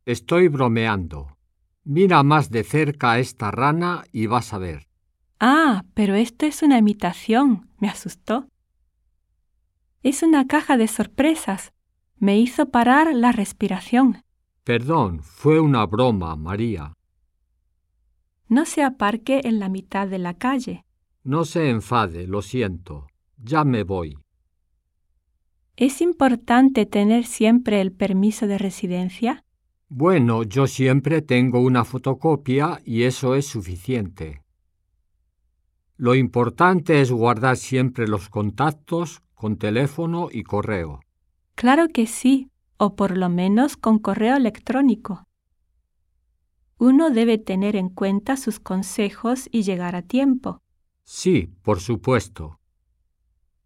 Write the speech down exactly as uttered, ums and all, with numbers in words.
Estoy bromeando. Mira más de cerca a esta rana y vas a ver. Ah, pero esto es una imitación. Me asustó. Es una caja de sorpresas. Me hizo parar la respiración. Perdón, fue una broma, María. No se aparque en la mitad de la calle. No se enfade, lo siento. Ya me voy. ¿Es importante tener siempre el permiso de residencia? Bueno, yo siempre tengo una fotocopia y eso es suficiente. Lo importante es guardar siempre los contactos con teléfono y correo. Claro que sí, o por lo menos con correo electrónico. Uno debe tener en cuenta sus consejos y llegar a tiempo. Sí, por supuesto.